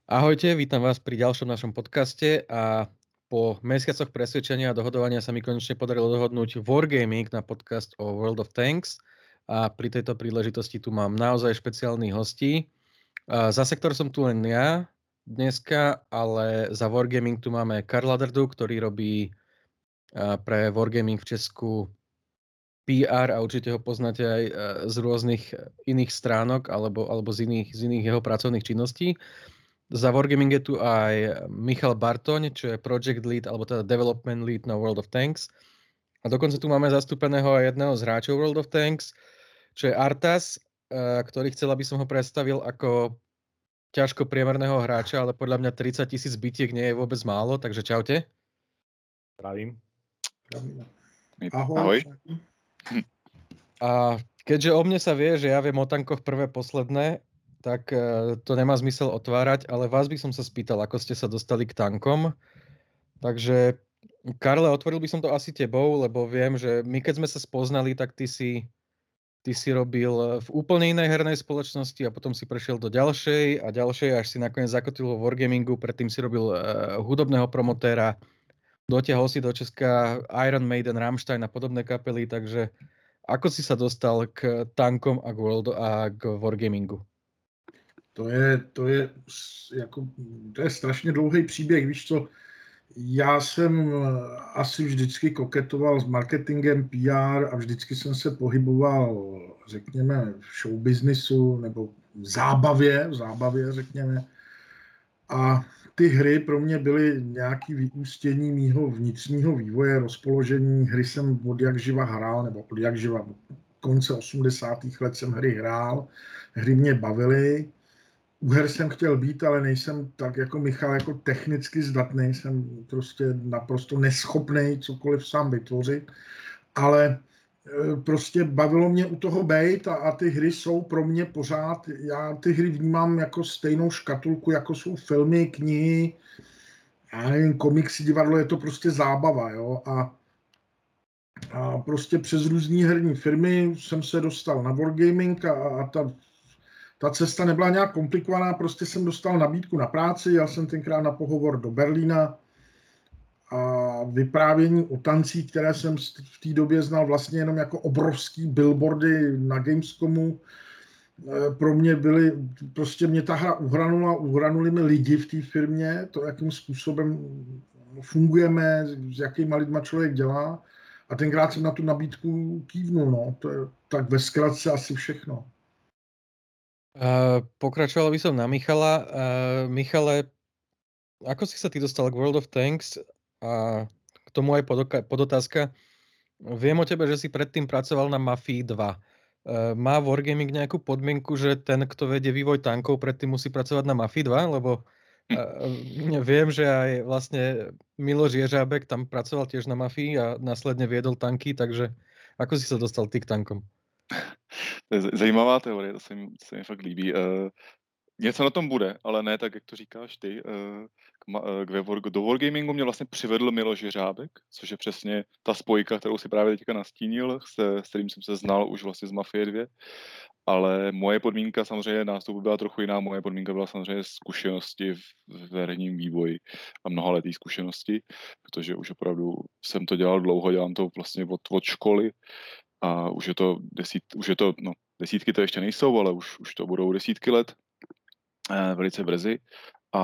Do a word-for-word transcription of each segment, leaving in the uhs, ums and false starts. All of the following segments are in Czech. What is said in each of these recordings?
Ahojte, vítam vás pri ďalšom našom podcaste a po mesiacoch presvedčenia a dohodovania sa mi konečne podarilo dohodnúť Wargaming na podcast o World of Tanks a pri tejto príležitosti tu mám naozaj špeciálnych hostí. A za sektor som tu len ja dneska, ale za Wargaming tu máme Karla Drdu, ktorý robí a, pre Wargaming v Česku pé er a určite ho poznáte aj a, z rôznych iných stránok alebo, alebo z, iných, z iných jeho pracovných činností. Za Wargaming je tu aj Michal Bartoň, čo je Project Lead, alebo teda Development Lead na World of Tanks. A dokonca tu máme zastúpeného aj jedného z hráčov World of Tanks, čo je Artas, eh, ktorý chcel, aby som ho predstavil ako ťažko priemerného hráča, ale podľa mňa tridsať tisíc bitiek nie je vôbec málo, takže čaute. Pravím. Ahoj. Ahoj. A keďže o mne sa vie, že ja viem o tankoch prvé posledné, tak to nemá zmysel otvárať, ale vás by som sa spýtal, ako ste sa dostali k tankom. Takže, Karle, otvoril by som to asi tebou, lebo viem, že my keď sme sa spoznali, tak ty si, ty si robil v úplne inej hernej spoločnosti a potom si prešiel do ďalšej a ďalšej, až si nakoniec zakotil vo Wargamingu, predtým si robil uh, hudobného promotéra, dotiahol si do Česka Iron Maiden, Rammstein a podobné kapely, takže ako si sa dostal k tankom a k, World, a k Wargamingu? To je, to je, jako, to je strašně dlouhý příběh, víš co, já jsem asi vždycky koketoval s marketingem, pé er a vždycky jsem se pohyboval, řekněme, v showbiznisu nebo v zábavě, v zábavě, řekněme. A ty hry pro mě byly nějaké vyústění mýho vnitřního vývoje, rozpoložení. Hry jsem od jak živa hrál, nebo od jak živa, konce osmdesátých let jsem hry hrál, hry mě bavily. U her jsem chtěl být, ale nejsem tak jako Michal, jako technicky zdatný, jsem prostě naprosto neschopný cokoliv sám vytvořit, ale prostě bavilo mě u toho bejt a, a ty hry jsou pro mě pořád, já ty hry vnímám jako stejnou škatulku, jako jsou filmy, knihy, já nevím, komiksy, divadlo, je to prostě zábava, jo, a, a prostě přes různý herní firmy jsem se dostal na Wargaming a, a ta Ta cesta nebyla nějak komplikovaná, prostě jsem dostal nabídku na práci, jel jsem tenkrát na pohovor do Berlína a vyprávění o tancích, které jsem v té době znal vlastně jenom jako obrovský billboardy na Gamescomu, pro mě byly, prostě mě ta hra uhranula, uhranuli mi lidi v té firmě, to, jakým způsobem fungujeme, s jakýma lidma člověk dělá, a tenkrát jsem na tu nabídku kývnul, no, to je tak ve zkratce asi všechno. Uh, pokračoval by som na Michala. Uh, Michale, ako si sa ty dostal k World of Tanks? A k tomu aj podoka- podotázka. Viem o tebe, že si predtým pracoval na Mafii dva. Uh, má Wargaming nejakú podmienku, že ten, kto vedie vývoj tankov, predtým musí pracovať na Mafii dva? Lebo uh, viem, že aj vlastne Miloš Jeřábek tam pracoval tiež na Mafii a následne viedol tanky, takže ako si sa dostal ty k tankom? To je zajímavá teorie, to se mi, to se mi fakt líbí. Uh, něco na tom bude, ale ne tak, jak to říkáš ty. Uh, k, k, do Wargamingu mě vlastně přivedl Miloš Jeřábek, což je přesně ta spojka, kterou si právě teďka nastínil, se, s kterým jsem se znal už vlastně z Mafie dva. Ale moje podmínka samozřejmě nástupu byla trochu jiná. Moje podmínka byla samozřejmě zkušenosti v, v herním vývoji a mnohaletý zkušenosti, protože už opravdu jsem to dělal dlouho, dělám to vlastně od, od školy. A už je to, desít, už je to, no, desítky to ještě nejsou, ale už, už to budou desítky let, eh, velice brzy. A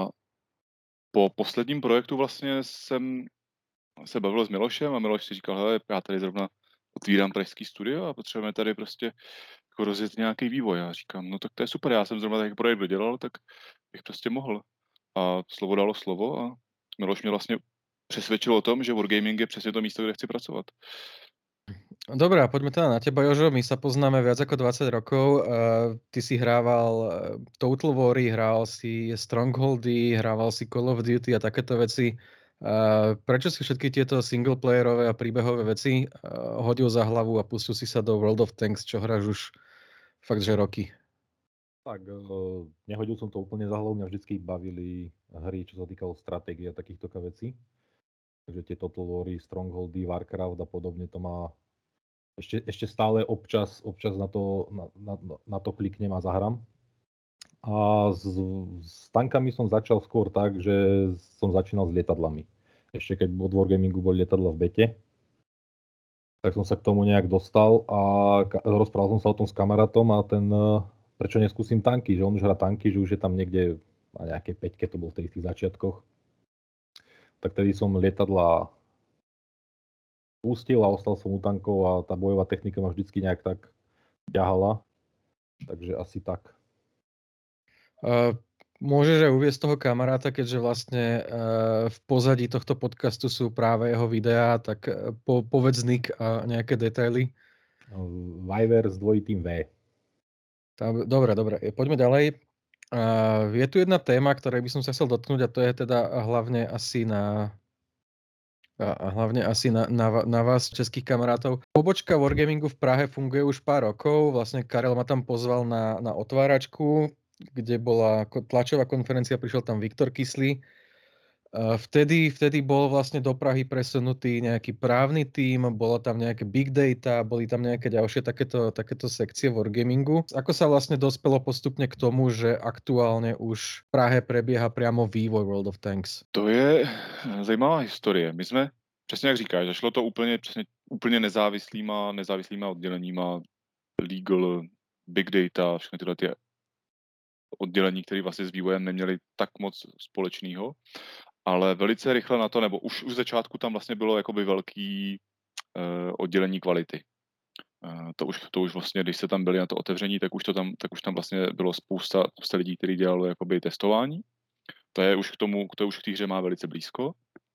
po posledním projektu vlastně jsem se bavil s Milošem a Miloš si říkal, hele, já tady zrovna otvírám pražský studio a potřebujeme tady prostě jako rozjet nějaký vývoj. Já říkám, no tak to je super, já jsem zrovna takový projekt dodělal, tak bych prostě mohl. A slovo dalo slovo a Miloš mě vlastně přesvědčil o tom, že Wargaming je přesně to místo, kde chci pracovat. Dobre, a poďme teda na teba, Jožo. My sa poznáme viac ako dvadsať rokov. Uh, ty si hrával uh, Total War, hral si Strongholdy, hrával si Call of Duty a takéto veci. Uh, prečo si všetky tieto singleplayerové a príbehové veci uh, hodil za hlavu a pustil si sa do World of Tanks, čo hráš už fakt, že roky? Tak, uh, nehodil som to úplne za hlavu, mňa vždycky bavili hry, čo sa týkalo stratégie a takýchto vecí. Takže tie Total War, Strongholdy, Warcraft a podobne, to má Ešte, ešte stále občas, občas na, to, na, na, na to kliknem a zahrám. A s, s tankami som začal skôr tak, že som začínal s lietadlami. Ešte keď od Wargamingu boli lietadla v bete, tak som sa k tomu nejak dostal a ka- rozprával som sa o tom s kamarátom a ten, eh, prečo neskúsim tanky, že on už hrá tanky, že už je tam niekde na nejakej peťke, to bol v tých začiatkoch. Tak tedy som lietadla pustil a ostal som u tankov a tá bojová technika ma vždycky nejak tak ťahala. Takže asi tak. Uh, môžeš aj uviesť toho kamaráta, keďže vlastne uh, v pozadí tohto podcastu sú práve jeho videá, tak uh, po, povedz nick a nejaké detaily. Viver s dvojitým V. Tam, dobre, dobre, poďme ďalej. Uh, je tu jedna téma, ktorej by som sa chcel dotknúť a to je teda hlavne asi na a hlavne asi na, na, na vás, českých kamarátov. Pobočka Wargamingu v Prahe funguje už pár rokov. Vlastne Karel ma tam pozval na, na otváračku, kde bola tlačová konferencia, prišiel tam Viktor Kyslý. Vtedy, vtedy bol vlastne do Prahy presunutý nejaký právny tím, bolo tam nejaké big data, boli tam nejaké ďalšie takéto, takéto sekcie Wargamingu. Ako sa vlastne dospelo postupne k tomu, že aktuálne už v Prahe prebieha priamo vývoj World of Tanks? To je zajímavá historie. My jsme, přesně jak říkáš, zašlo to úplně, přesně, úplně nezávislýma, nezávislýma odděleníma, legal, big data, všechny tyhle ty oddělení, které vlastně s vývojem neměly tak moc společného, ale velice rychle na to, nebo už, už v začátku tam vlastně bylo jakoby velký uh, oddělení kvality. Uh, to, už, to už vlastně, když se tam byli na to otevření, tak už, to tam, tak už tam vlastně bylo spousta, spousta lidí, kteří dělali jakoby testování. To je už k tomu, to už k té hře má velice blízko.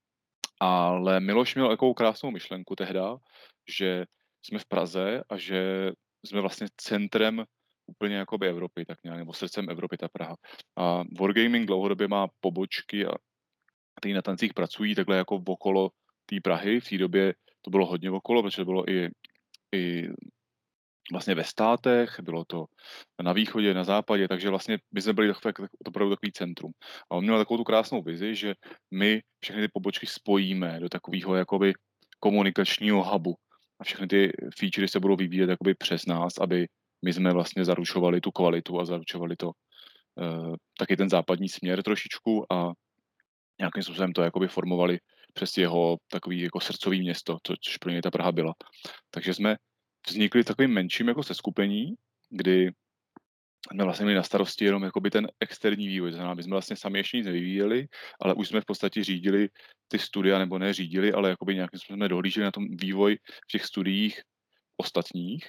Ale Miloš měl takovou krásnou myšlenku tehda, že jsme v Praze a že jsme vlastně centrem úplně jakoby Evropy, tak nějak, nebo srdcem Evropy ta Praha. A Wargaming dlouhodobě má pobočky a ty na tancích pracují takhle jako okolo té Prahy. V té době to bylo hodně okolo, protože to bylo i, i vlastně ve státech, bylo to na východě, na západě, takže vlastně my jsme byli takové, opravdu takový centrum. A on měl takovou tu krásnou vizi, že my všechny ty pobočky spojíme do takového jakoby komunikačního hubu a všechny ty featurey se budou vyvíjet jakoby přes nás, aby my jsme vlastně zaručovali tu kvalitu a zaručovali to uh, taky ten západní směr trošičku a nějakým způsobem to jakoby formovali přes jeho takový jako srdcový město, což pro něj ta Praha byla. Takže jsme vznikli takovým menším jako seskupení, kdy jsme vlastně měli na starosti jenom jakoby ten externí vývoj. Znamená, my jsme vlastně sami ještě nic nevyvíjeli, ale už jsme v podstatě řídili ty studia, nebo ne řídili, ale jakoby nějakým způsobem jsme dohlíželi na tom vývoj v těch studiích ostatních.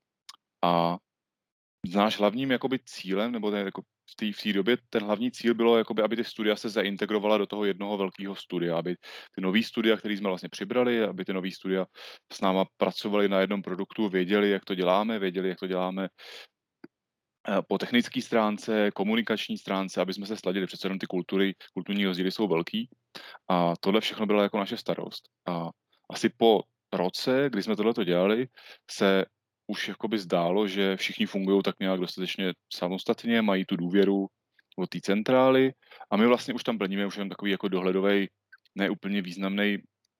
A náš hlavním jakoby cílem, nebo ten, jako v té v té době ten hlavní cíl bylo, jakoby, aby ty studia se zaintegrovala do toho jednoho velkého studia, aby ty nový studia, který jsme vlastně přibrali, aby ty nový studia s náma pracovali na jednom produktu, věděli, jak to děláme, věděli, jak to děláme po technické stránce, komunikační stránce, aby jsme se sladili, přece jenom ty kultury, kulturní rozdíly jsou velký a tohle všechno byla jako naše starost. A asi po roce, kdy jsme tohleto dělali, se už jakoby zdálo, že všichni fungují tak nějak dostatečně samostatně, mají tu důvěru od té centrály a my vlastně už tam plníme už jen takový jako dohledový, neúplně významný,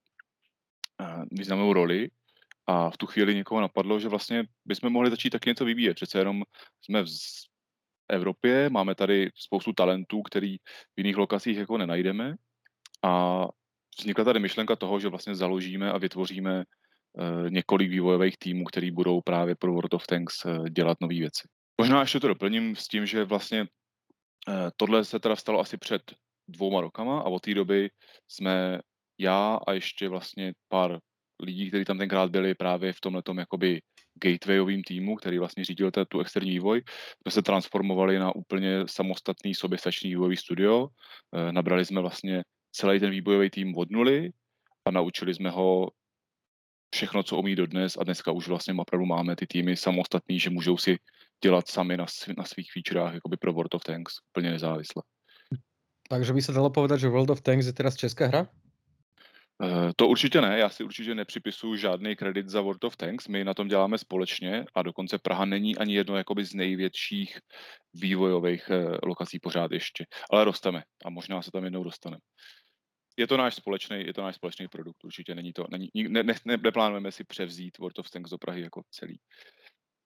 významnou roli. A v tu chvíli někoho napadlo, že vlastně bychom mohli začít taky něco vyvíjet. Přece jenom jsme v Evropě, máme tady spoustu talentů, který v jiných lokacích jako nenajdeme. A vznikla tady myšlenka toho, že vlastně založíme a vytvoříme uh, několik vývojových týmů, který budou právě pro World of Tanks uh, dělat nové věci. Možná ještě to doplním s tím, že vlastně uh, tohle se teda stalo asi před dvouma rokama a od té doby jsme já a ještě vlastně pár lidí, kteří tam tenkrát byli právě v tomhletom jakoby gatewayovým týmu, který vlastně řídil tu externí vývoj, jsme se transformovali na úplně samostatný soběstačný vývojový studio. E, nabrali jsme vlastně celý ten vývojový tým od nuly a naučili jsme ho všechno, co umí dodnes a dneska už vlastně opravdu máme ty týmy samostatný, že můžou si dělat sami na, na svých featurách jakoby pro World of Tanks úplně nezávisle. Takže by sa dalo povedať, že World of Tanks je teraz česká hra? Uh, to určitě ne, já si určitě nepřipisuju žádný kredit za World of Tanks, my na tom děláme společně a dokonce Praha není ani jedno jakoby z největších vývojových uh, lokací pořád ještě, ale rosteme a možná se tam jednou dostaneme. Je to náš společný, je to náš společný produkt, určitě není to, není, ne, ne, ne, neplánujeme si převzít World of Tanks do Prahy jako celý.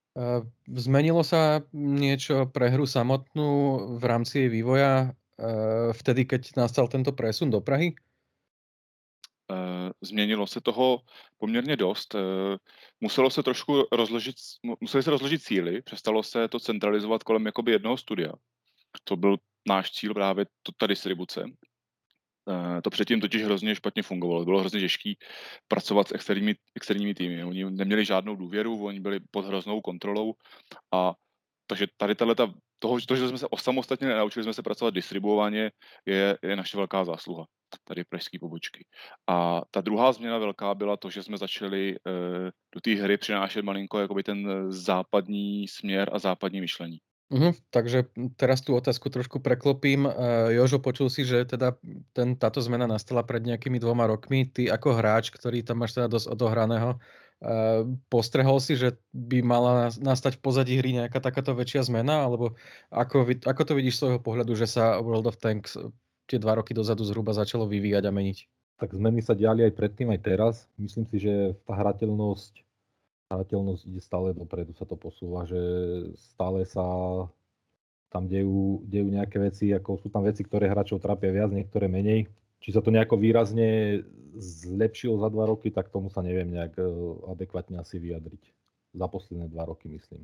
Uh, zmenilo sa niečo pre hru samotnú v rámci jej vývoja uh, vtedy, keď nastal tento presun do Prahy? Uh, změnilo se toho poměrně dost. Uh, muselo se trošku rozložit, museli se rozložit síly, přestalo se to centralizovat kolem jakoby jednoho studia. To byl náš cíl právě to, ta distribuce. Uh, to předtím totiž hrozně špatně fungovalo. Bylo hrozně těžké pracovat s externími, externími týmy. Oni neměli žádnou důvěru, oni byli pod hroznou kontrolou a takže tady tato, toho, to, že jsme se osamostatně nenaučili jsme se pracovat distribuovaně, je, je naše velká zásluha tady pražské pobočky. A ta druhá změna velká byla to, že jsme začali uh, do té hry přinášet malinko jakoby ten západní směr a západní myšlení. Uh-huh, takže teraz tú otázku trošku preklopím. Uh, Jožo, počul si, že teda ten, táto zmena nastala pred nejakými dvoma rokmi. Ty ako hráč, ktorý tam máš teda dosť odohraného, uh, postrehol si, že by mala nastať v pozadí hry nejaká takáto väčšia zmena? Alebo ako, ako to vidíš z svojho pohľadu, že sa World of Tanks tie dva roky dozadu zhruba začalo vyvíjať a meniť? Tak zmeny sa diali aj predtým, aj teraz. Myslím si, že tá hrateľnosť hrateľnosť ide stále dopredu, sa to posúva, že stále sa tam dejú, dejú nejaké veci, ako sú tam veci, ktoré hráčov trápia viac, niektoré menej. Či sa to nejako výrazne zlepšilo za dva roky, tak tomu sa neviem nejak adekvátne asi vyjadriť. Za posledné dva roky, myslím.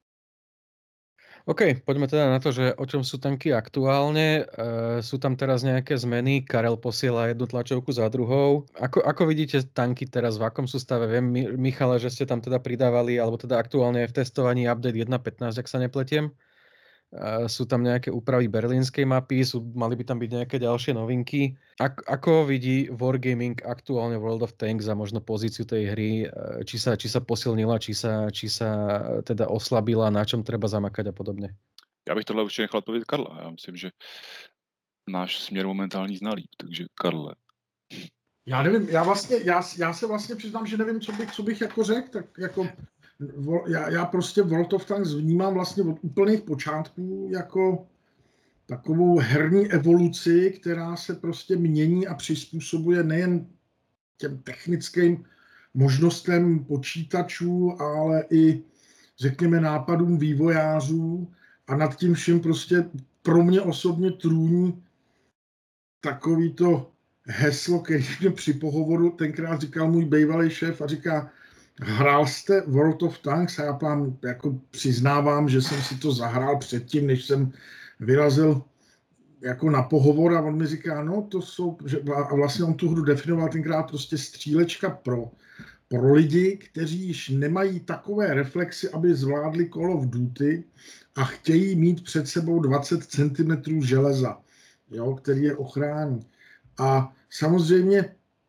OK, poďme teda na to, že o čom sú tanky aktuálne. E, sú tam teraz nejaké zmeny, Karel posiela jednu tlačovku za druhou. Ako, ako vidíte tanky teraz, v akom sú stave? Viem, Michale, že ste tam teda pridávali, alebo teda aktuálne je v testovaní update jedna pätnásť, ak sa nepletiem. E, sú tam nejaké úpravy berlínskej mapy, sú, mali by tam byť nejaké ďalšie novinky. Ak, ako vidí Wargaming aktuálne World of Tanks a možno pozíciu tej hry? Či sa, či sa posilnila, či sa, či sa teda oslabila, na čom treba zamakať a podobne? Já bych tohle určitě nechal odpovědět Karla. Já myslím, že náš směr momentální zná líp, takže Karle. Já nevím, já vlastně, já, já se vlastně přiznám, že nevím, co bych, co bych jako řekl, tak jako já, já prostě World of Tanks vnímám vlastně od úplných počátků jako takovou herní evoluci, která se prostě mění a přizpůsobuje nejen těm technickým možnostem počítačů, ale i řekněme nápadům vývojářů a nad tím vším prostě pro mě osobně trůní takový to heslo, který mě při pohovoru tenkrát říkal můj bývalý šéf a říká, hrál jste World of Tanks? A já vám jako přiznávám, že jsem si to zahrál předtím, než jsem vyrazil jako na pohovor a on mi říká, no to jsou, že, a vlastně on tu hru definoval tenkrát prostě střílečka pro, pro lidi, kteří již nemají takové reflexy, aby zvládli Call of Duty a chtějí mít před sebou dvacet centimetrů železa, jo, který je ochrání. A samozřejmě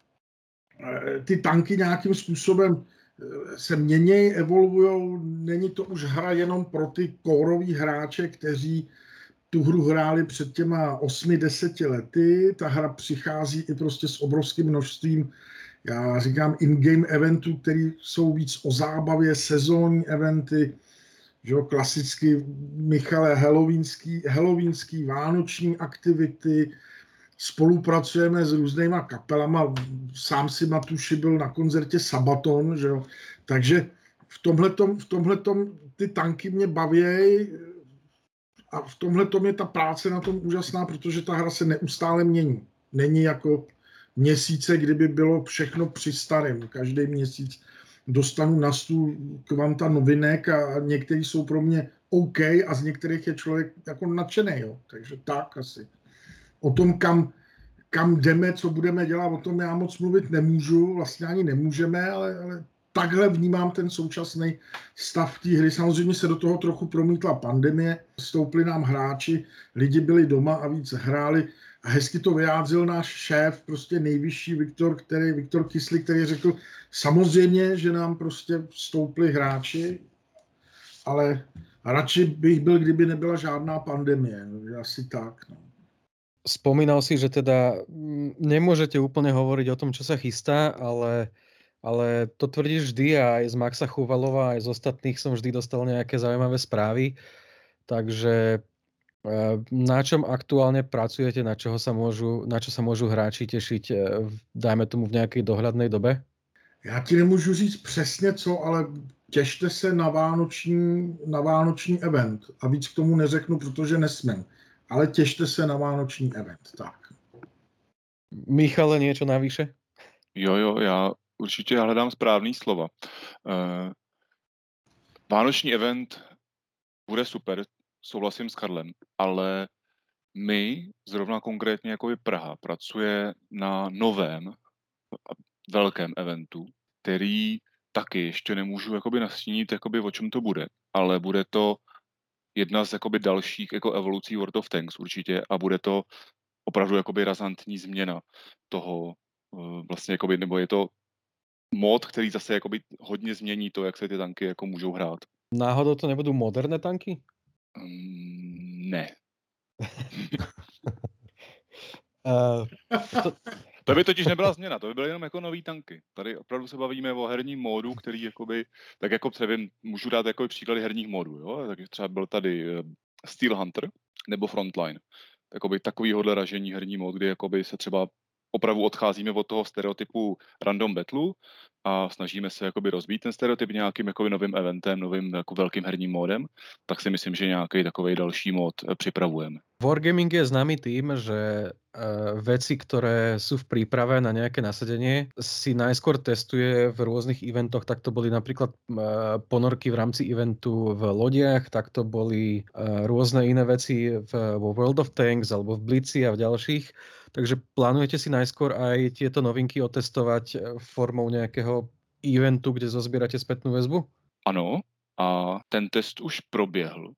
ty tanky nějakým způsobem se mění, evoluujou, není to už hra jenom pro ty kóroví hráče, kteří tu hru hráli před těma osmi deseti lety, ta hra přichází i prostě s obrovským množstvím, já říkám in-game eventů, které jsou víc o zábavě, sezónní eventy, že jo, klasicky Michale halloweenský, halloweenský, vánoční aktivity, spolupracujeme s různýma kapelama, sám si Matuši byl na koncertě Sabaton, že jo, takže v tomhletom, v tomhletom ty tanky mě baví a v tomhletom je ta práce na tom úžasná, protože ta hra se neustále mění. Není jako měsíce, kdyby bylo všechno při starém. Každý měsíc dostanu na stůl kvanta novinek a některý jsou pro mě OK a z některých je člověk jako nadšený, jo. Takže tak asi. O tom, kam, kam jdeme, co budeme dělat, o tom já moc mluvit nemůžu, vlastně ani nemůžeme, ale, ale takhle vnímám ten současný stav té hry. Samozřejmě se do toho trochu promítla pandemie, stoupli nám hráči, lidi byli doma a víc hráli. A hezky to vyjádřil náš šéf, prostě nejvyšší Viktor, který, Viktor Kyslík, který řekl, samozřejmě, že nám prostě vstoupli hráči, ale radši bych byl, kdyby nebyla žádná pandemie. Asi tak, no. Spomínal si, že teda nemôžete úplne hovoriť o tom, čo sa chystá, ale, ale to tvrdíš vždy a aj z Maxa Chuvalova, aj z ostatných som vždy dostal nejaké zaujímavé správy. Takže na čom aktuálne pracujete, na, čoho sa môžu, na čo sa môžu hráči tešiť, dajme tomu v nejakej dohľadnej dobe? Já ti nemůžu říct přesně co, ale těšte se na vánoční, na vánoční event. A víc k tomu neřeknu, protože nesmím. Ale těšte se na vánoční event. Tak. Michale, niečo navyše? Jo, jo, já určitě hledám správný slova. Uh, Vánoční event bude super, souhlasím s Karlem, ale my, zrovna konkrétně jako i Praha, pracuje na novém velkém eventu, který taky ještě nemůžu jakoby nastínit, jakoby o čem to bude, ale bude to jedna z jakoby dalších jako evolucí World of Tanks určitě a bude to opravdu jakoby razantní změna toho vlastně jakoby, nebo je to mod, který zase jakoby hodně změní to, jak se ty tanky jako můžou hrát. Náhodou to nebudú moderné tanky? Um, ne. uh, to... to by totiž nebyla změna, to by byly jenom jako nový tanky. Tady opravdu se bavíme o herním módu, který jakoby, tak jako nevím, můžu dát jako příklady herních módů, jo? Tak třeba byl tady Steel Hunter nebo Frontline. Jakoby takovýhodle ražení herní mód, kdy jakoby se třeba opravdu odcházíme od toho stereotypu random battle a snažíme se jakoby rozbít ten stereotyp nějakým jakoby novým eventem, novým jako velkým herním módem, tak si myslím, že nějaký takový další mód připravujeme. Wargaming je známy tým, že uh, veci, ktoré sú v príprave na nejaké nasadenie, si najskôr testuje v rôznych eventoch. Tak to boli napríklad uh, ponorky v rámci eventu v lodiach, tak to boli uh, rôzne iné veci v, vo World of Tanks alebo v Blitzi a v ďalších. Takže plánujete si najskôr aj tieto novinky otestovať formou nejakého eventu, kde zozbierate spätnú väzbu? Ano, a ten test už proběhl.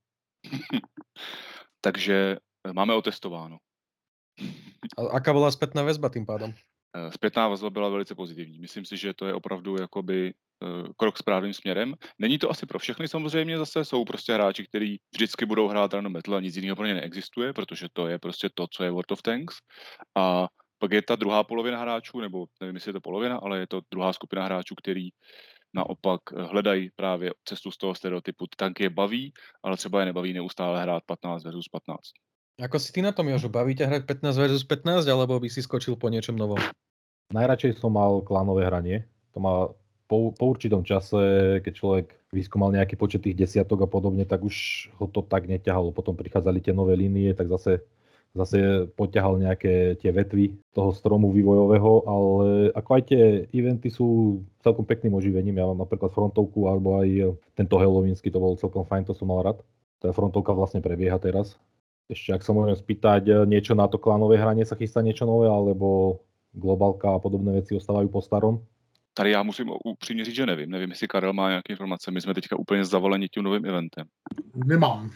Takže máme otestováno. A aká bola spätná väzba tým pádom? Zpětná vazba byla velice pozitivní. Myslím si, že to je opravdu jakoby krok správným směrem. Není to asi pro všechny samozřejmě zase, jsou prostě hráči, kteří vždycky budou hrát random battle a nic jiného pro ně neexistuje, protože to je prostě to, co je World of Tanks. A pak je ta druhá polovina hráčů, nebo nevím, jestli je to polovina, ale je to druhá skupina hráčů, který naopak hledají právě cestu z toho stereotypu. Ty tanky je baví, ale třeba je nebaví neustále hrát patnáct versus patnáct. Ako si ty na tom, Jožo? Baví ťa hrať pätnásť versus pätnásť, alebo by si skočil po niečom novom? Najradšej som mal klánové hranie. To má po, po určitom čase, keď človek vyskúmal nejaký počet tých desiatok a podobne, tak už ho to tak neťahalo. Potom prichádzali tie nové línie, tak zase, zase poťahal nejaké tie vetvy toho stromu vývojového, ale ako aj tie eventy sú celkom pekným oživením. Ja mám napríklad frontovku, alebo aj tento halloweensky, to bol celkom fajn, to som mal rád. Tá frontovka vlastne prebieha teraz. Ešte, ak sa môžem spýtať, niečo na to klánové hranie sa chystá niečo nové, alebo globálka a podobné věci ostávají po starom? Tady já musím upřímně říct, že nevím. Nevím, jestli Karel má nějaké informace. My jsme teďka úplně zavoleni tím novým eventem. Nemám.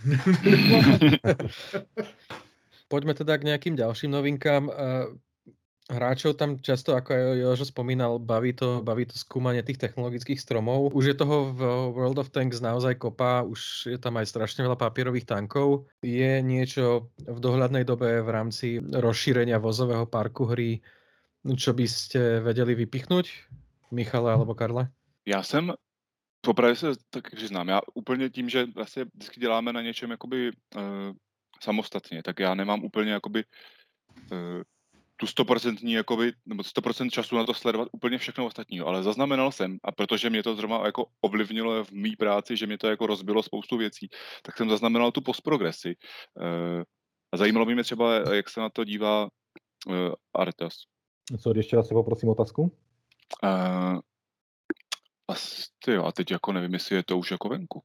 Poďme teda k nejakým ďalším novinkám. Hráčov tam často, ako aj Jožo spomínal, baví to, baví to skúmanie tých technologických stromov. Už je toho v World of Tanks naozaj kopa, už je tam aj strašne veľa papierových tankov. Je niečo v dohľadnej dobe v rámci rozšírenia vozového parku hry, čo by ste vedeli vypichnúť? Michale alebo Karle? Já jsem, popravdě se tak přiznám, já úplně tím, že vlastně vždycky děláme na něčem jakoby uh, samostatně, tak já nemám úplně jakoby uh, tu stoprocentní, jakoby, nebo sto procent času na to sledovat úplně všechno ostatního, ale zaznamenal jsem, a protože mě to zrovna jako ovlivnilo v mý práci, že mě to jako rozbilo spoustu věcí, tak jsem zaznamenal tu postprogresi. Uh, a zajímalo by mě třeba, jak se na to dívá uh, Artas. Sorry, ještě raz si poprosím otázku. Uh, asi jo, a teď jako nevím, jestli je to už jako venku.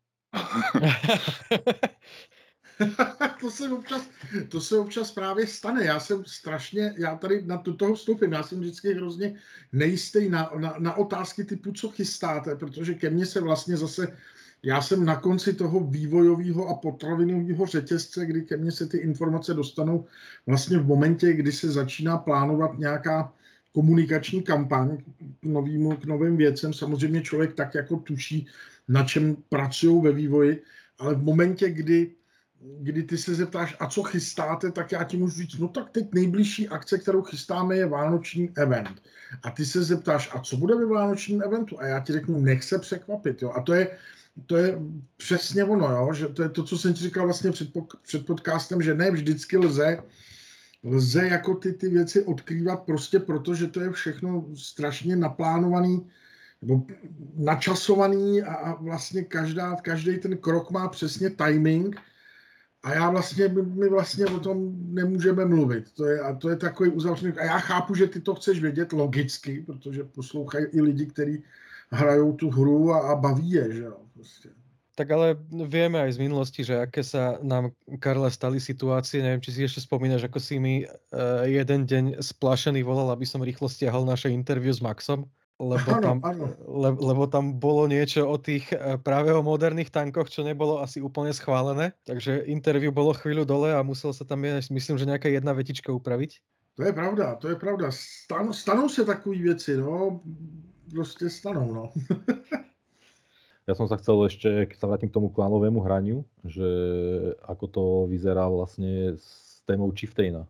to, se občas, to se občas právě stane. Já jsem strašně, já tady na to, toho vstupím, já jsem vždycky hrozně nejistý na, na, na otázky typu, co chystáte, protože ke mně se vlastně zase, já jsem na konci toho vývojového a potravinového řetězce, kdy ke mně se ty informace dostanou vlastně v momentě, kdy se začíná plánovat nějaká komunikační kampaň k, novýmu, k novým věcem. Samozřejmě člověk tak jako tuší, na čem pracují ve vývoji, ale v momentě, kdy, kdy ty se zeptáš, a co chystáte, tak já ti můžu říct, no tak teď nejbližší akce, kterou chystáme, je vánoční event. A ty se zeptáš, a co bude ve vánočním eventu? A já ti řeknu, nech se překvapit. Jo? A to je, to je přesně ono, jo? Že to je to, co jsem ti říkal vlastně před, před podcastem, že ne vždycky lze lze jako ty, ty věci odkrývat prostě proto, že to je všechno strašně naplánovaný nebo načasovaný a, a vlastně každá, každý ten krok má přesně timing a já vlastně, my, my vlastně o tom nemůžeme mluvit. To je, a to je takový uzavřený. A já chápu, že ty to chceš vědět logicky, protože poslouchají i lidi, kteří hrajou tu hru a, a baví je, že jo. Prostě. Tak ale vieme aj z minulosti, že aké sa nám, Karle, stali situácie. Neviem, či si ešte spomínaš, ako si mi uh, jeden deň splašený volal, aby som rýchlo stiahol naše interview s Maxom, lebo Ano, tam, ano. le, lebo tam bolo niečo o tých uh, práve o moderných tankoch, čo nebolo asi úplne schválené. Takže interview bolo chvíľu dole a musel sa tam, myslím, že nejaká jedna vetička upraviť. To je pravda, to je pravda. Stanou, stanou se takové věci, no. Prostě stanou, no. Ja som sa chcel ešte, keď sa vrátim k tomu klanovému hraniu, že ako to vyzerá vlastne s témou Chieftaina.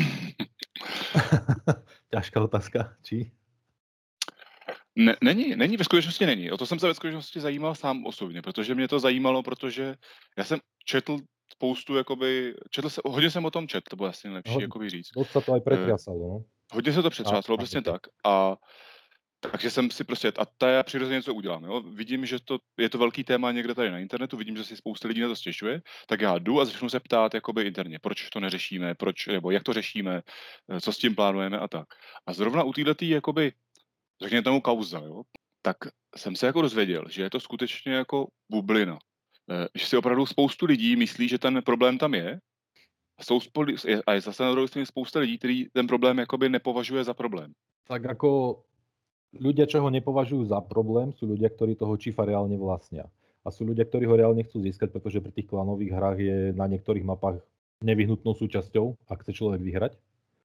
Ťažká otázka, či? Ne, není, není, ve skutečnosti není. O to jsem se ve skutečnosti zajímal sám osobně, protože mě to zajímalo, protože já jsem četl spoustu, jakoby, četl se, hodně jsem o tom četl, to bylo asi nejlepší, Ho- jakoby říct. Dosť sa to aj pretriasalo, no. Hodně se to přetřáslo, A- přesně a- tak. A takže jsem si prostě, a to já přirozeně něco udělám, jo. Vidím, že to, je to velký téma někde tady na internetu, vidím, že si spousta lidí na to stěžuje, tak já jdu a začnu se ptát jakoby interně, proč to neřešíme, proč, nebo jak to řešíme, co s tím plánujeme a tak. A zrovna u této jakoby, řekněme tomu kauza, jo, tak jsem se jako dozvěděl, že je to skutečně jako bublina. Eh, Že si opravdu spoustu lidí myslí, že ten problém tam je, a, jsou spoli, a je zase na druhé straně spousta lidí, který ten problém jakoby nepovažuje za problém. Tak ako ľudia, čo ho nepovažujú za problém, sú ľudia, ktorí toho Chiefa reálne vlastnia. A sú ľudia, ktorí ho reálne chcú získať, pretože pri tých klanových hrách je na niektorých mapách nevyhnutnou súčasťou, ak chce človek vyhrať.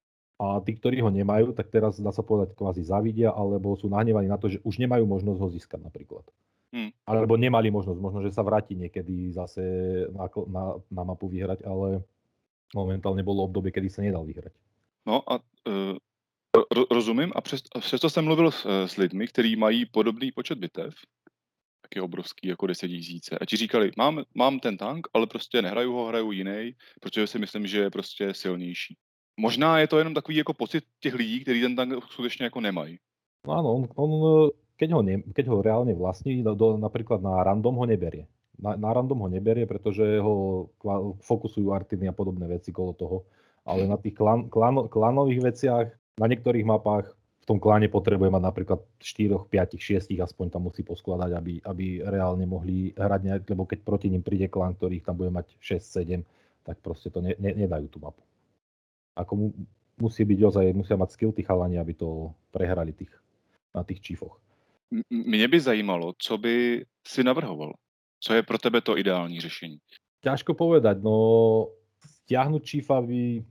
A tí, ktorí ho nemajú, tak teraz dá sa povedať kvázi zavidia, alebo sú nahnevaní na to, že už nemajú možnosť ho získať napríklad. Hmm. Alebo nemali možnosť, možno, že sa vráti niekedy zase na, na, na mapu vyhrať, ale momentálne bolo obdobie, kedy sa nedal vyhrať. No a uh, ro, rozumím a přes, a přesto jsem mluvil s, s lidmi, kteří mají podobný počet bitev, tak je obrovský, jako deset tisíce. A ti říkali, mám, mám ten tank, ale prostě nehraju ho, hraju jiný, protože si myslím, že je prostě silnější. Možná je to jenom takový jako pocit těch lidí, kteří ten tank skutečně jako nemají. No áno, on, on keď, ho ne, keď ho reálne vlastní, do, do, napríklad na random ho neberie. Na, na random ho neberie, pretože ho kva, fokusujú artiny a podobné veci kolo toho. Ale na tých klan, klan, klanových veciach, na niektorých mapách v tom kláne potrebuje mať napríklad štyri, päť, šesť aspoň tam musí poskladať, aby, aby reálne mohli hrať nejak, lebo keď proti nim príde klán, ktorých tam bude mať šesť sedem, tak proste to ne, ne, nedajú tú mapu. Ako mu, musí byť ozaj, musia mať skill tí chalani, aby to prehrali tých, na tých čífoch. Mě by zajímalo, co by si navrhoval. Co je pro tebe to ideální řešení? Ťažko povedať, no stiahnuť Chiefa by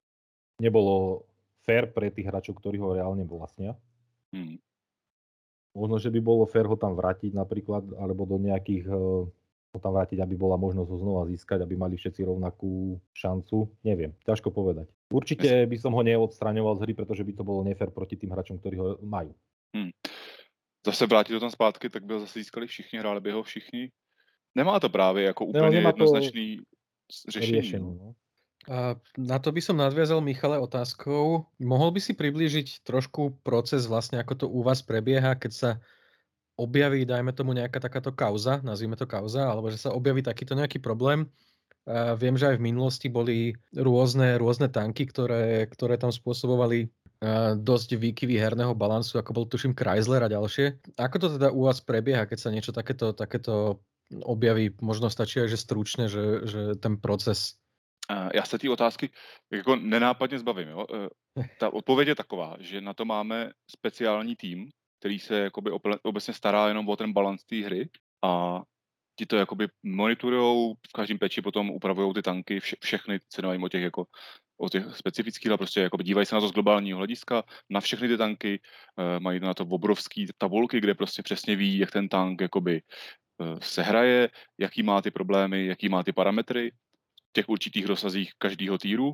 nebolo fair pre tých hráčov, ktorí ho reálne vlastnia. Hmm. Možno, že by bolo fair ho tam vrátiť napríklad, alebo do nejakých, ho tam vrátiť, aby bola možnosť ho znova získať, aby mali všetci rovnakú šancu. Neviem, ťažko povedať. Určite by som ho neodstraňoval z hry, pretože by to bolo nefér proti tým hráčom, ktorí ho majú. Hmm. Zase vrátit to tam zpátky, tak by ho zase získali všichni, hráli by ho všichni. Nemá to právě jako úplně nemá jednoznačný řešení. riešenie, no. A na to by som nadviazal, Michale, otázkou. Mohol by si priblížiť trošku proces, vlastne ako to u vás prebieha, keď sa objaví, dajme tomu, nejaká takáto kauza, nazvime to kauza, alebo že sa objaví takýto nejaký problém. A viem, že aj v minulosti boli rôzne, rôzne tanky, ktoré, ktoré tam spôsobovali dosť výkyvy herného balansu, ako bol tuším Chrysler a ďalšie. Ako to teda u vás prebieha, keď sa niečo takéto, takéto objaví? Možno stačí aj, že stručne, že, že ten proces. Já se té otázky jako nenápadně zbavím. Jo? Ta odpověď je taková, že na to máme speciální tým, který se jakoby obecně stará jenom o ten balans té hry a ti to jakoby monitorujou, v každém peči potom upravují ty tanky, vše, všechny, se nevím o těch jako o těch specifických, ale prostě jakoby dívají se na to z globálního hlediska, na všechny ty tanky, mají na to obrovský tabulky, kde prostě přesně ví, jak ten tank jakoby se hraje, jaký má ty problémy, jaký má ty parametry v těch určitých rozsazích každého týru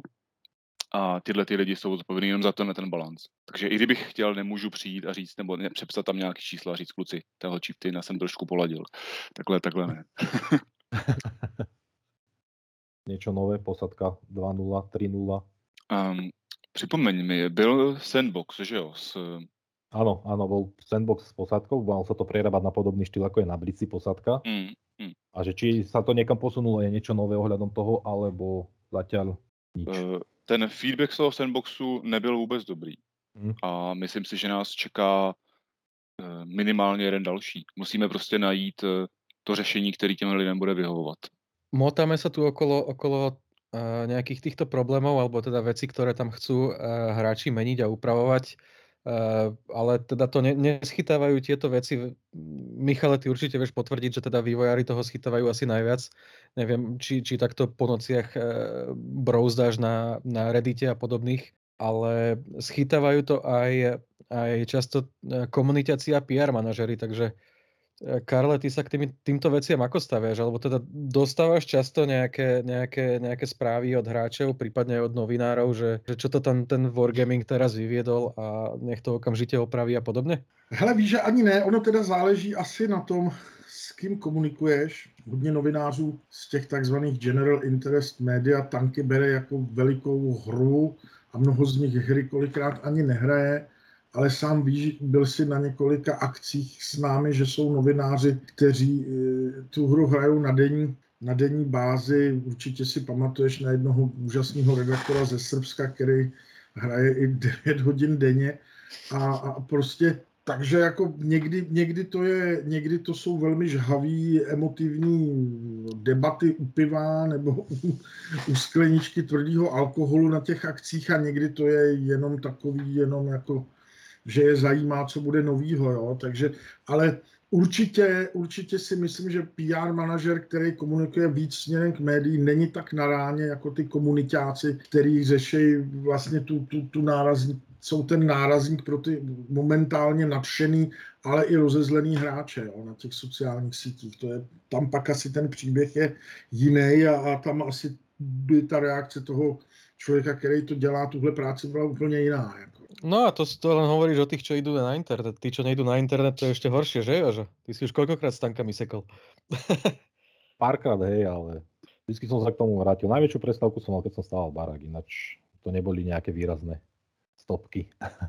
a tyhle ty lidi jsou zodpovědní jenom za to, na ten balans. Takže i kdybych chtěl, nemůžu přijít a říct, nebo ne, přepsat tam nějaký čísla a říct, kluci, téhle Chieftaina jsem trošku poladil. Takhle, takhle ne. Niečo nové, posadka dva nula, tri nula. Um, připomeň mi, byl Sandbox, že jo, s Áno, áno, bol sandbox s posádkou, malo sa to prerábať na podobný štýl, ako je na Blici posádka. Mm, mm. A že či sa to niekam posunulo, je niečo nové ohľadom toho, alebo zatiaľ nič. Uh, ten feedback z toho sandboxu nebyl vůbec dobrý. Mm. A myslím si, že nás čeká uh, minimálně jeden další. Musíme prostě najít uh, to řešení, který těm lidem bude vyhovovat. Motáme sa tu okolo, okolo uh, nejakých týchto problémov, alebo teda veci, ktoré tam chcú uh, hráči meniť a upravovať. Uh, ale teda to ne, neschytávajú tieto veci. Michale, ty určite vieš potvrdiť, že teda vývojári toho schytávajú asi najviac. Neviem, či, či takto po nociach uh, brouzdáš na, na Reddite a podobných, ale schytávajú to aj, aj často komunitácia pé er manažery, takže Karle, ty sa k tým, týmto veciam ako staviaš? Alebo teda dostávaš často nejaké, nejaké, nejaké správy od hráčov, prípadne aj od novinárov, že, že čo to tam ten Wargaming teraz vyviedol a nech to okamžite opraví a podobne? Hele, víš, že ani ne, ono teda záleží asi na tom, s kým komunikuješ. Hodně novinářů z těch takzvaných General Interest Media tanky bere jako velikou hru a mnoho z nich hry kolikrát ani nehraje, ale sám víš, byl si na několika akcích s námi, že jsou novináři, kteří tu hru hrajou na denní, na denní bázi. Určitě si pamatuješ na jednoho úžasného redaktora ze Srbska, který hraje i devět hodin denně a, a prostě takže jako někdy, někdy, to je, někdy to jsou velmi žhavý, emotivní debaty u piva nebo u, u skleničky tvrdého alkoholu na těch akcích a někdy to je jenom takový, jenom jako, že je zajímá, co bude novýho, jo, takže, ale určitě, určitě si myslím, že pé er manažer, který komunikuje víc směrem k médiím, není tak na ráně jako ty komunitáci, který řeší vlastně tu, tu, tu nárazník, jsou ten nárazník pro ty momentálně nadšený, ale i rozezlený hráče, jo, na těch sociálních sítích. To je, tam pak asi ten příběh je jiný a, a tam asi by ta reakce toho člověka, který to dělá, tuhle práci byla úplně jiná. Jako. No a to, to len hovoríš o tých, čo idú na internet. Tí, čo nejdú na internet, to je ešte horšie, že Jožo? Ty si už koľkokrát s tankami sekol? Párkrát, hej, ale vždycky som sa k tomu vrátil. Najväčšiu prestávku som mal, keď som stával barák, ináč to neboli nejaké výrazné stopky.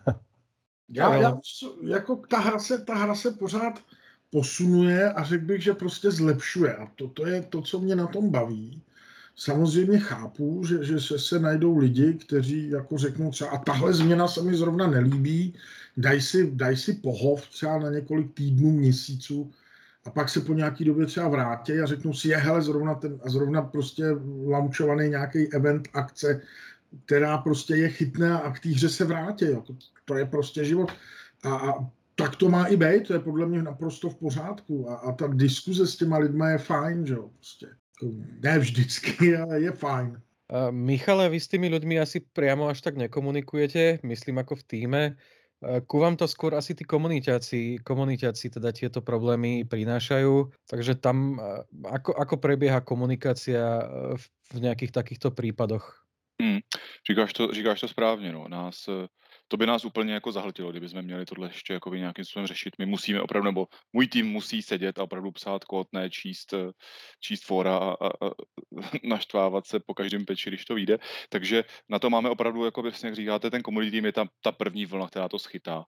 Já, já, jako ta hra, se, ta hra se pořád posunuje a řekl bych, že prostě zlepšuje. A to, to je to, co mě na tom baví. Samozřejmě chápu, že, že se, se najdou lidi, kteří jako řeknou třeba, a tahle změna se mi zrovna nelíbí, daj si, daj si pohov třeba na několik týdnů, měsíců a pak se po nějaký době třeba vrátí a řeknou si, je hele, zrovna, ten, a zrovna prostě launchovaný nějaký event, akce, která prostě je chytná a k té hře se vrátí. Jo. To, to je prostě život. A, a tak to má i být, to je podle mě naprosto v pořádku. A, a ta diskuze s těma lidma je fajn, že jo, prostě. Ne vždycky, ale je fajn. Uh, Michale, vy s tými ľuďmi asi priamo až tak nekomunikujete, myslím ako v týme. Uh, ku vám to skôr asi tí komunitáci, komunitáci teda tieto problémy prinášajú. Takže tam uh, ako, ako prebieha komunikácia uh, v, v nejakých takýchto prípadoch? Hmm. Říkáš to, říkáš to správně, no. Nás, to by nás úplně jako zahltilo, kdyby jsme měli tohle ještě jako nějakým způsobem řešit. My musíme opravdu, nebo můj tým musí sedět a opravdu psát kód, ne číst, číst fóra a, a, a naštvávat se po každém peči, když to vyjde. Takže na to máme opravdu, jako vlastně, jak říkáte, ten community tým je tam ta první vlna, která to schytá.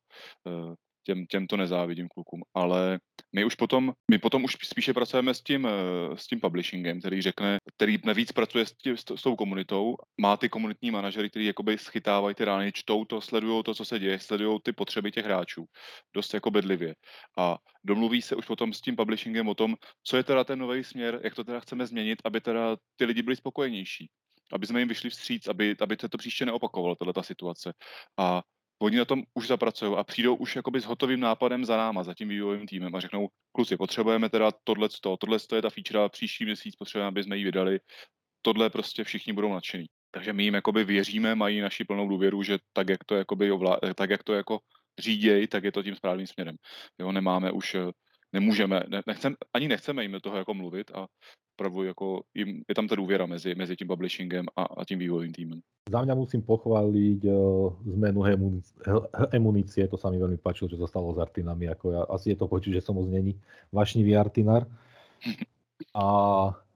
Těm, těm to nezávidím klukům, ale my už potom, my potom už spíše pracujeme s tím, s tím publishingem, který řekne, který navíc pracuje s, tím, s, s tou komunitou, má ty komunitní manažery, který jakoby schytávají ty rány, čtou to, sledují to, co se děje, sledují ty potřeby těch hráčů, dost jako bedlivě. A domluví se už potom s tím publishingem o tom, co je teda ten nový směr, jak to teda chceme změnit, aby teda ty lidi byli spokojenější, aby jsme jim vyšli vstříc, aby, aby se to příště neopakovalo, tato situace. A oni na tom už zapracují a přijdou už jakoby s hotovým nápadem za náma, za tím vývojovým týmem a řeknou, kluci, potřebujeme teda tohleto, tohle je ta feature, příští měsíc potřebujeme, aby jsme ji vydali, tohle prostě všichni budou nadšený. Takže my jim jakoby věříme, mají naši plnou důvěru, že tak, jak to jakoby ovlá, tak, jak to jako říděj, tak je to tím správným směrem. Jo, nemáme už, nemůžeme, ne, nechcem, ani nechceme jim do toho jako mluvit a opravdu jako jim, je tam ta důvěra mezi, mezi tím publishingem a, a tím vývojovým týmem. Za mňa musím pochváliť uh, zmenu emunície, to sa mi veľmi páčilo, čo sa stalo s artinami, ako ja, asi je to počuť, že som moc není vášnivý artinár. A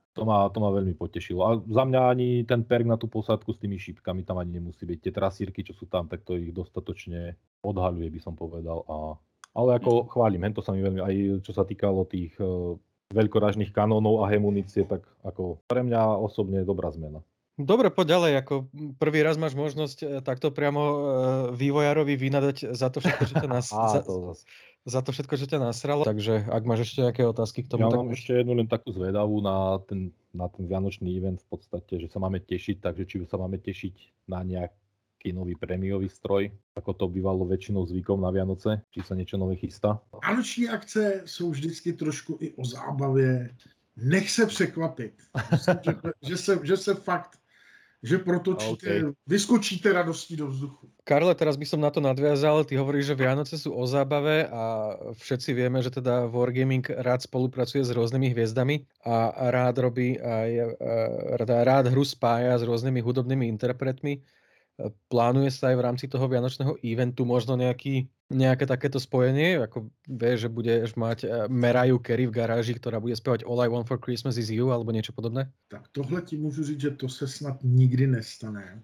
To ma, to ma veľmi potešilo. A za mňa ani ten perk na tú posádku s tými šípkami tam ani nemusí byť. Tie trasírky, čo sú tam, tak to ich dostatočne odhaľuje, by som povedal. A, ale ako chválim, hento sa mi veľmi, aj čo sa týkalo tých uh, veľkorážnych kanónov a hemunície, tak ako pre mňa osobne dobrá zmena. Dobre, poď ďalej, ako prvý raz máš možnosť e, takto priamo e, vývojárovi vynadať za to všetko, čo ťa nas... Á, za, to zas. za to všetko, čo ťa nasralo. Takže ak máš ešte nejaké otázky k tomu, Ja tak mám môžeš. ešte jednu len takú zvedavú na ten, na ten vianočný event v podstate, že sa máme tešiť, takže či sa máme tešiť na nejaký nový prémiový stroj, ako to bývalo väčšinou zvykom na Vianoce, či sa niečo nové chystá. Vánoční akce jsou vždycky trošku i o zábavě. Nech se překvapit, že, že, se, že se fakt, že protočíte, okay. Vyskočíte radostí do vzduchu. Karle, teraz by som na to nadviazal. Ty hovoríš, že Vianoce sú o zábave a všetci vieme, že teda Wargaming rád spolupracuje s rôznymi hviezdami a rád robí aj rád, rád hru spája s rôznymi hudobnými interpretmi. Plánuje sa aj v rámci toho vianočného eventu možno nejaký, nejaké takéto spojenie? Ako vieš, že budeš mať Mariah Carey v garáži, ktorá bude spievať All I Want for Christmas is You alebo niečo podobné? Tak tohle ti můžu říct, že to se snad nikdy nestane.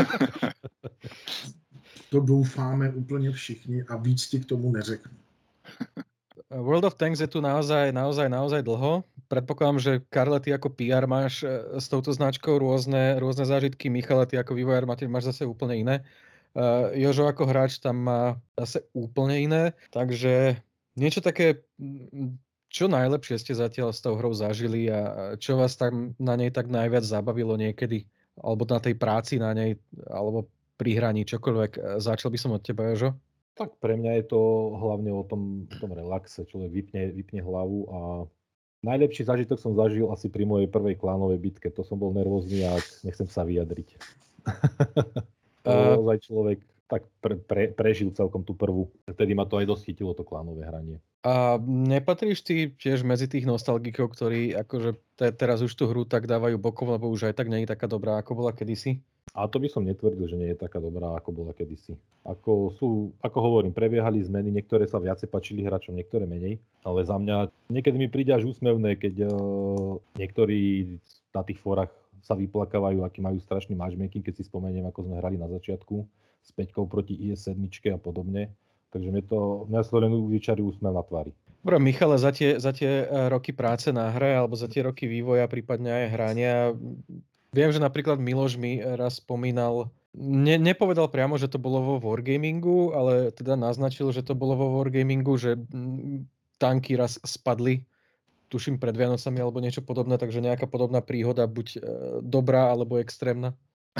To doufáme úplně všichni a víc ti k tomu neřeknu. World of Tanks je tu naozaj, naozaj, naozaj dlho. Predpokladám, že Karle, ty ako pé er máš s touto značkou rôzne, rôzne zážitky. Michale, ty ako vývojár máš zase úplne iné. Uh, Jožo ako hráč tam má zase úplne iné. Takže niečo také, čo najlepšie ste zatiaľ s tou hrou zažili a čo vás tam na nej tak najviac zabavilo niekedy? Alebo na tej práci na nej, alebo pri hraní, čokoľvek. Začal by som od teba, Jožo. Tak pre mňa je to hlavne o tom, tom relaxe, človek vypne, vypne hlavu a najlepší zážitok som zažil asi pri mojej prvej klánovej bitke. To som bol nervózny a nechcem sa vyjadriť. To uh... ozaj človek tak pre, pre, prežil celkom tú prvú. Vtedy ma to aj dosť chytilo, to klánové hranie. A nepatríš ty tiež medzi tých nostalgikov, ktorí akože te, teraz už tú hru tak dávajú bokom, lebo už aj tak nie je taká dobrá, ako bola kedysi? A to by som netvrdil, že nie je taká dobrá, ako bola kedysi. Ako sú, ako hovorím, prebiehali zmeny, niektoré sa viacej páčili hráčom, niektoré menej. Ale za mňa niekedy mi príde až úsmevné, keď uh, niektorí na tých fórach sa vyplakávajú, aký majú strašný matchmaking, keď si spomeniem, ako sme hrali na začiatku s Peťkou proti í es sedem a podobne. Takže mňa to, mňa sa len vyčarí úsmev na tvári. Dobre, Michale, za tie, za tie roky práce na hre, alebo za tie roky vývoja, prípadne aj hrania, viem, že napríklad Miloš mi raz spomínal, ne, nepovedal priamo, že to bolo vo Wargamingu, ale teda naznačil, že to bolo vo Wargamingu, že tanky raz spadli, tuším pred Vianocami alebo niečo podobné, takže nejaká podobná príhoda, buď dobrá alebo extrémna.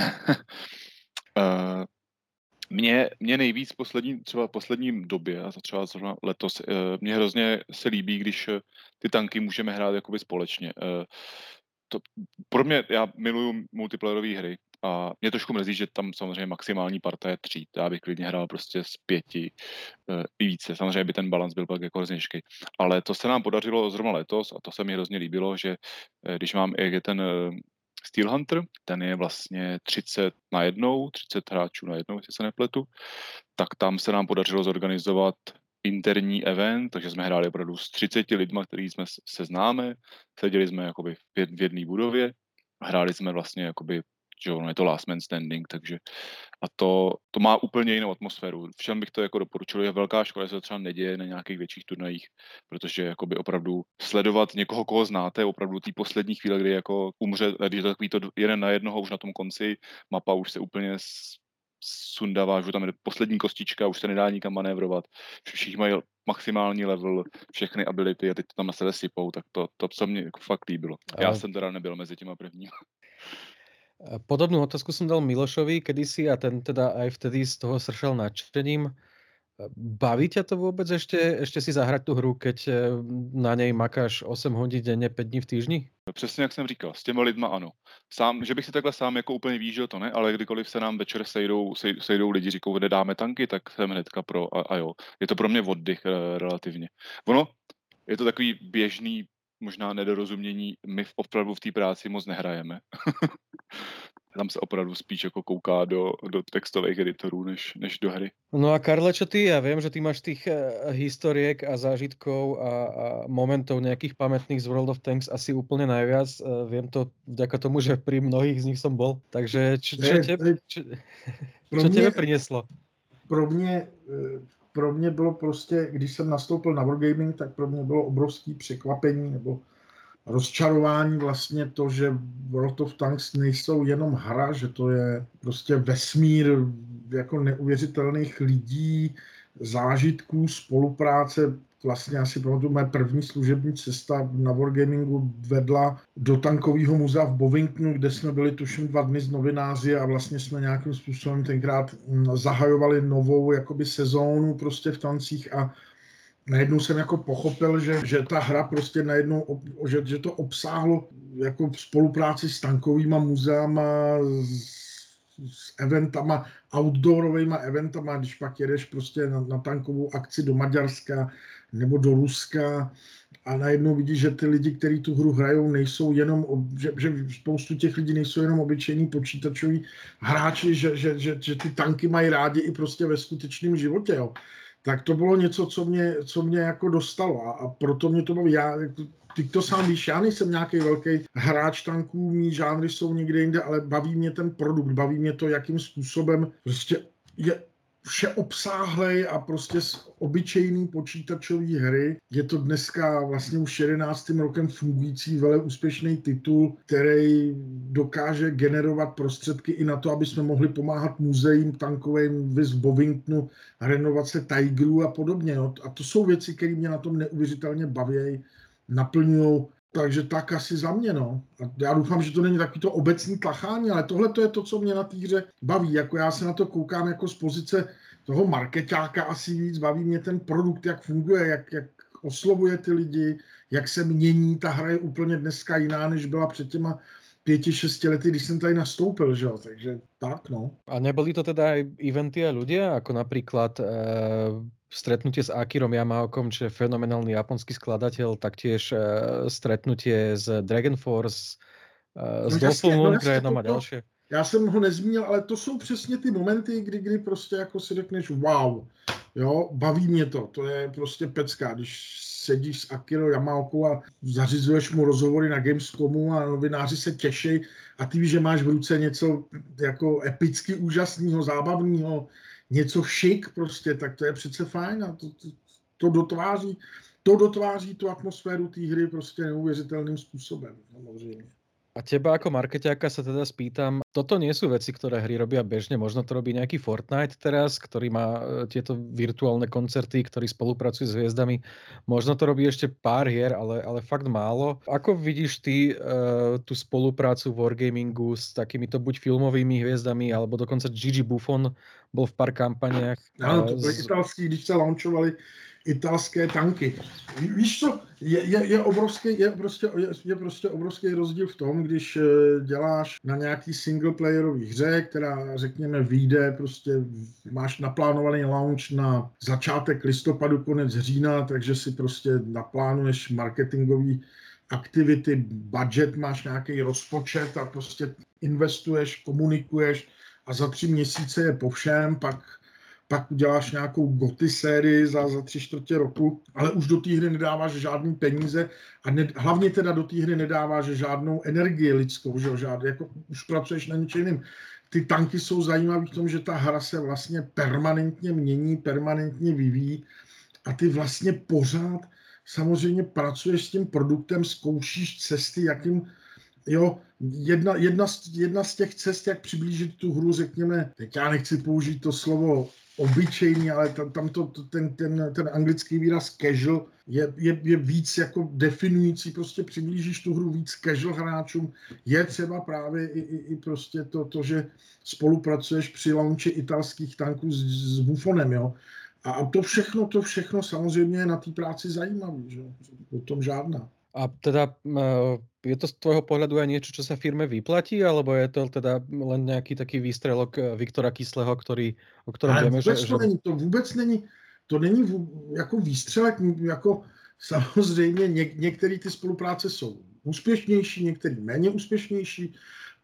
uh... Mně, mně nejvíc poslední, třeba v posledním době, a třeba letos, mě hrozně se líbí, když ty tanky můžeme hrát jakoby společně. To, pro mě, já miluju multiplayerové hry a mě trošku mrzí, že tam samozřejmě maximální parta je tří. Já bych klidně hrál prostě z pěti i více. Samozřejmě by ten balans byl pak jako hrozně těžký. Ale to se nám podařilo zrovna letos a to se mi hrozně líbilo, že když mám, jak je ten Steel Hunter, ten je vlastně třicet na jednou, třicet hráčů na jednou, jestli se nepletu, tak tam se nám podařilo zorganizovat interní event, takže jsme hráli opravdu s třiceti lidma, který jsme se známe, seděli jsme jakoby v jedné budově a hráli jsme vlastně jakoby, že ono je to last man standing, takže a to, to má úplně jinou atmosféru. Všem bych to jako doporučil, je velká škoda, že se to třeba neděje na nějakých větších turnajích, protože jakoby opravdu sledovat někoho, koho znáte, opravdu té poslední chvíle, kdy jako umře, když je to takový to jeden na jednoho už na tom konci, mapa už se úplně sundává, že tam je poslední kostička, už se nedá nikam manévrovat, všichni mají maximální level, všechny ability a teď to tam na sebe sypou, tak to, to co mě jako fakt líbilo. Já jsem teda nebyl mezi těma prvníma. Podobnú otázku som dal Milošovi kedysi a ten teda aj vtedy z toho sršal nadšením. Baví ťa to vôbec ešte, ešte si zahrať tú hru, keď na nej makáš osm hodín denne, päť dní v týždni? Přesně jak jsem říkal, s těma lidma ano. Sám, že bych si takhle sám jako úplně výžil, to ne, ale kdykoliv se nám večer sejdou, sej, sejdou lidi, říkou, nedáme tanky, tak jsem hnedka pro a, a jo. Je to pro mě oddych e, relativně. Ono, je to takový běžný možná nedorozumění, my v opravdu v té práci moc nehrajeme. tam se opravdu spíš jako kouká do, do textových editorů, než, než do hry. No a Karle, čo ty? Ja viem, že ty máš tých uh, historiek a zážitkov a, a momentov nejakých pamätných z World of Tanks asi úplne najviac. Uh, viem to vďaka tomu, že pri mnohých z nich som bol. Takže čo, čo, tebe, čo, čo tebe prinieslo? Pro mě, pro mě bylo prostě, když jsem nastoupil na Wargaming, tak pro mě bylo obrovské překvapení nebo rozčarování vlastně to, že World of Tanks nejsou jenom hra, že to je prostě vesmír jako neuvěřitelných lidí, zážitků, spolupráce. Vlastně asi pamatuju, moje první služební cesta na Wargamingu vedla do tankového muzea v Bovingtonu, kde jsme byli tuším dva dny s novináři a vlastně jsme nějakým způsobem tenkrát zahajovali novou jakoby sezónu prostě v tancích a najednou jsem jako pochopil, že, že ta hra prostě najednou, že, že to obsáhlo jako v spolupráci s tankovýma muzeama, s, s eventama, outdoorovými eventama, když pak jedeš prostě na, na tankovou akci do Maďarska nebo do Ruska a najednou vidíš, že ty lidi, kteří tu hru hrajou, nejsou jenom, že, že spoustu těch lidí nejsou jenom obyčejní počítačoví hráči, že, že, že, že ty tanky mají rádi i prostě ve skutečném životě, jo. Tak to bylo něco, co mě, co mě jako dostalo a, a proto mě to baví. Já, ty to sám víš, já nejsem nějaký velký hráč tanků, mý žánry jsou někde jinde, ale baví mě ten produkt, baví mě to, jakým způsobem prostě je všeobsáhlej a prostě z obyčejný počítačový hry. Je to dneska vlastně už jedenáctým rokem fungující vele úspěšný titul, který dokáže generovat prostředky i na to, aby jsme mohli pomáhat muzeím tankovým v Bovingtonu, renovace Tigerů a podobně. No. A to jsou věci, které mě na tom neuvěřitelně baví, naplňují. Takže tak asi za mě, no. A já doufám, že to není takový to obecný tlachání, ale tohle to je to, co mě na té hře baví. Jako já se na to koukám jako z pozice toho markeťáka asi víc, baví mě ten produkt, jak funguje, jak, jak oslovuje ty lidi, jak se mění. Ta hra je úplně dneska jiná, než byla před těma pěti, šesti lety, když jsem tady nastoupil, že jo, takže tak, no. A neboli to teda aj eventy a ľudia, ako napríklad e, stretnutie s Akirom Yamaokom, čo je fenomenálny japonský skladateľ, taktiež e, stretnutie s Dragon Force, e, s No Dolphin jasně, no Lundgrenom jasně, a to- ďalšie. Já jsem ho nezmínil, ale to jsou přesně ty momenty, kdy, kdy prostě jako si řekneš wow, jo, baví mě to, to je prostě pecka, když sedíš s Akirou Yamaokou a zařizuješ mu rozhovory na Gamescomu a novináři se těší a ty víš, že máš v ruce něco jako epicky úžasného, zábavného, něco šik prostě, tak to je přece fajn a to, to, to dotváří, to dotváří tu atmosféru té hry prostě neuvěřitelným způsobem, samozřejmě. A teba ako markeťáka sa teda spýtam, toto nie sú veci, ktoré hry robia bežne, možno to robí nejaký Fortnite teraz, ktorý má e, tieto virtuálne koncerty, ktorý spolupracuje s hviezdami. Možno to robí ešte pár hier, ale, ale fakt málo. Ako vidíš ty uh, tú spoluprácu Wargamingu s takýmito buď filmovými hviezdami, alebo dokonca Gigi Buffon bol v pár kampaniách. Ano, uh, to byly z... italský, když se launchovali italské tanky. Ví- Víš co, je, je, je, obrovský, je, prostě, je, je prostě obrovský rozdíl v tom, když eh, děláš na nějaký singleplayerový hře, která řekněme vyjde, prostě máš naplánovaný launch na začátek listopadu, konec října, takže si prostě naplánuješ marketingový aktivity, budget, máš nějaký rozpočet a prostě investuješ, komunikuješ a za tři měsíce je po všem, pak pak uděláš nějakou goty sérii za, za tři čtvrtě roku, ale už do té hry nedáváš žádný peníze a ne, hlavně teda do té hry nedáváš žádnou energii lidskou, že jo, žád, jako už pracuješ na něčem jiným. Ty tanky jsou zajímavé v tom, že ta hra se vlastně permanentně mění, permanentně vyvíjí a ty vlastně pořád samozřejmě pracuješ s tím produktem, zkoušíš cesty, jakým, jo, jedna, jedna, z, jedna z těch cest, jak přiblížit tu hru, řekněme, teď já nechci použít to slovo obyčejný, ale tam, tam to, ten, ten, ten anglický výraz casual je, je, je víc jako definující, prostě přiblížíš tu hru víc casual hráčům, je třeba právě i, i, i prostě to, to, že spolupracuješ při launchi italských tanků s, s Buffonem, jo. A, a to všechno, to všechno samozřejmě je na té práci zajímavé, že jo, o tom žádná. A teda uh, je to z tvojho pohľadu aj niečo, čo sa firme vyplatí, alebo je to teda len nejaký taký výstrelok uh, Viktora Kyslého, ktorý, o ktorom Ale vieme, vůbec že... to že... není, to vůbec není, to není vů- jako výstřelek, jako samozřejmě něk, některé ty spolupráce jsou úspěšnější, některé méně úspěšnější,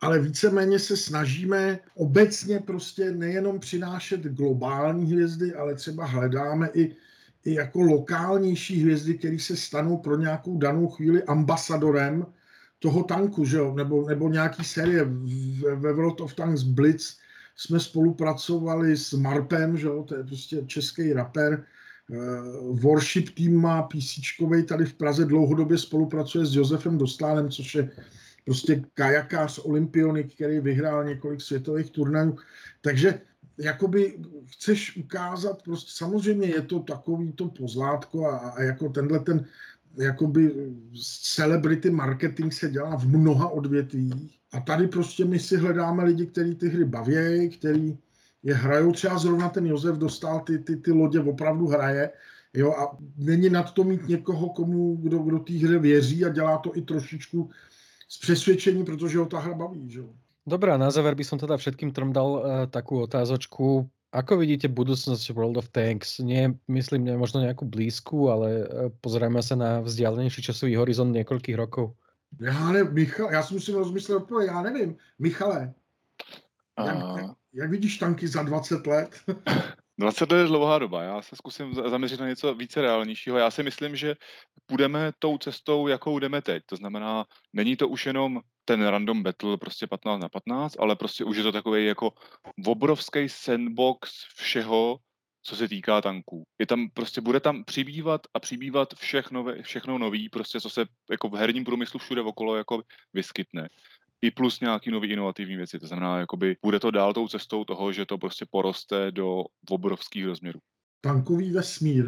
ale víceméně se snažíme obecně prostě nejenom přinášet globální hvězdy, ale třeba hledáme i, i jako lokálnější hvězdy, které se stanou pro nějakou danou chvíli ambasadorem toho tanku, že jo? Nebo, nebo nějaký série. Ve World of Tanks Blitz jsme spolupracovali s Marpem, že jo? To je prostě český rapper. Warship Team má PCčkovej tady v Praze, dlouhodobě spolupracuje s Josefem Dostánem, což je prostě kajakář olympionik, který vyhrál několik světových turnajů. Takže jakoby chceš ukázat, prostě samozřejmě je to takový to pozlátko a, a jako tenhle ten jakoby celebrity marketing se dělá v mnoha odvětvích. A tady prostě my si hledáme lidi, kteří ty hry baví, který je hrajou, třeba zrovna ten Josef Dostal ty, ty, ty lodě opravdu hraje, jo, a není nad to mít někoho, komu, kdo, kdo té hře věří a dělá to i trošičku z přesvědčení, protože ho ta hra baví, že jo. Dobrá, na záver by som teda všetkým trom dal uh, takú otázočku. Ako vidíte budúcnosť World of Tanks? Nie, myslím, ne, možno nejakú blízku, ale uh, pozrieme sa na vzdialenejší časový horizont niekoľkých rokov. Já ne, Michal, já si musím rozmyslet odpověď, já nevím. Michale, jak, A... jak, jak vidíš tanky za dvacet let? dvacet let je dlouhá doba, já se zkusím zaměřit na něco více reálnějšího. Já si myslím, že půjdeme tou cestou, jakou jdeme teď. To znamená, není to už jenom ten random battle prostě patnáct na patnáct, ale prostě už je to takový jako obrovský sandbox všeho, co se týká tanků. Je tam prostě, bude tam přibývat a přibývat všechno, všechno nový, prostě co se jako v herním průmyslu všude okolo jako vyskytne. I plus nějaký nový inovativní věci. To znamená, jakoby bude to dál tou cestou toho, že to prostě poroste do obrovských rozměrů. Tankový vesmír.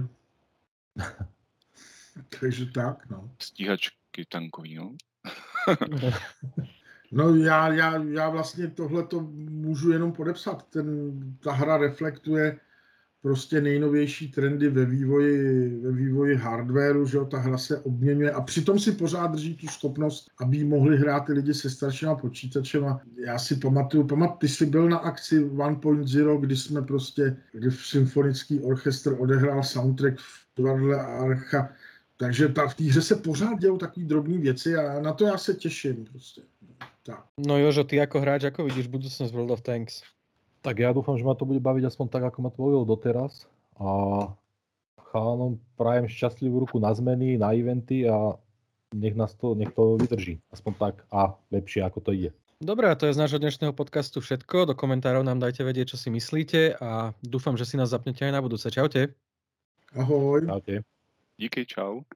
Takže tak, no. Stíhačky tankový, no. No já, já, já vlastně tohleto můžu jenom podepsat. Ten, ta hra reflektuje prostě nejnovější trendy ve vývoji, ve vývoji hardwareu, že jo, ta hra se obměňuje a přitom si pořád drží tu schopnost, aby mohli hrát ty lidi se staršíma počítačema. Já si pamatuju, pamat, ty jsi byl na akci jedna tečka nula, kdy jsme prostě, kdy symfonický orchestr odehrál soundtrack v divadle Archa, takže ta, v té hře se pořád dějou takové drobné věci a na to já se těším prostě. Tak. No Jožo, ty ako hráč, ako vidíš budúcnosť World of Tanks? Tak ja dúfam, že ma to bude baviť aspoň tak, ako ma to bavilo doteraz. A chalanom prajem šťastlivú ruku na zmeny, na eventy a nech nás to, nech to vydrží. Aspoň tak a lepšie, ako to ide. Dobre, a to je z nášho dnešného podcastu všetko. Do komentárov nám dajte vedieť, čo si myslíte a dúfam, že si nás zapnete aj na budúce. Čaute. Ahoj. Čaute. Díky, čau.